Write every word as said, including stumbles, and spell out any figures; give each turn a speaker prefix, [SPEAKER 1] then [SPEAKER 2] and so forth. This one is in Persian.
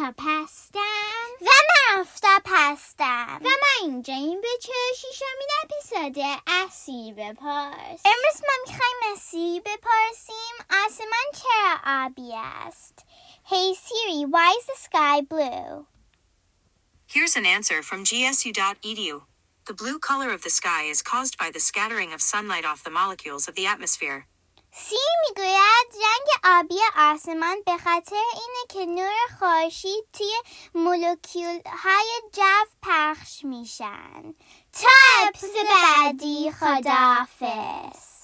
[SPEAKER 1] آفتاب هستم
[SPEAKER 2] و من آفتاب هستم
[SPEAKER 1] و ما اینجا این به چهل و ششمین اپیزود اسیر بپرس.
[SPEAKER 2] امروز ما میخوایم اسیر بپرسیم آسمان چرا آبی است؟ Hey Siri, why is the sky blue?
[SPEAKER 3] Here's an answer from G S U dot E D U. The blue color of the sky is caused by the scattering of sunlight off the molecules of the atmosphere.
[SPEAKER 2] سی میگوید رنگ آبی آسمان به خاطر اینه که نور خورشید توی مولکول های جو پخش میشن. تا اپیزود بعدی، خداحافظ.